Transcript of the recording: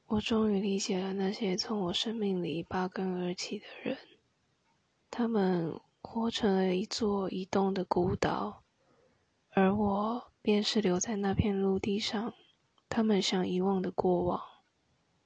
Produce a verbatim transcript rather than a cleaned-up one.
我终于理解了那些从我生命里拔根而起的人，他们活成了一座移动的孤岛，而我便是留在那片陆地上，他们想遗忘的过往。